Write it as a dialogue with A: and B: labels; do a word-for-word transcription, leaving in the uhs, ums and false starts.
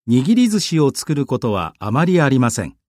A: 握り寿司を作ることはあまりありません。